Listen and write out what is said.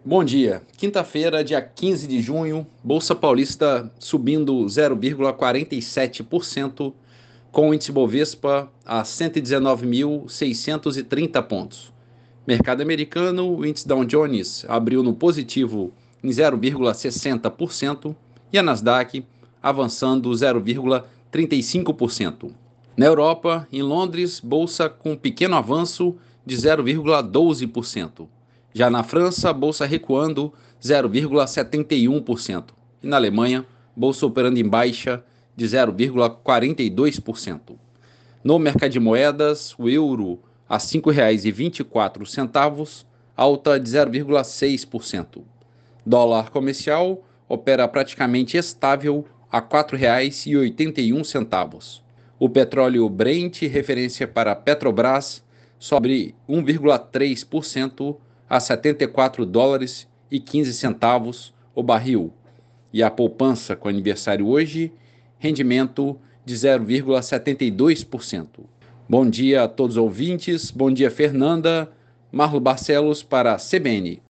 Bom dia. Quinta-feira, dia 15 de junho, Bolsa Paulista subindo 0,47%, com o índice Bovespa a 119.630 pontos. Mercado americano, o índice Dow Jones abriu no positivo em 0,60% e a Nasdaq avançando 0,35%. Na Europa, em Londres, bolsa com pequeno avanço de 0,12%. Já na França, bolsa recuando 0,71%. E na Alemanha, bolsa operando em baixa de 0,42%. No mercado de moedas, o euro a R$ 5,24, alta de 0,6%. Dólar comercial opera praticamente estável a R$ 4,81. O petróleo Brent, referência para a Petrobras, sobe 1,3% a US$ 74,15 o barril. E a poupança com aniversário hoje, rendimento de 0,72%. Bom dia a todos os ouvintes, bom dia Fernanda, Marlo Barcelos para a CBN.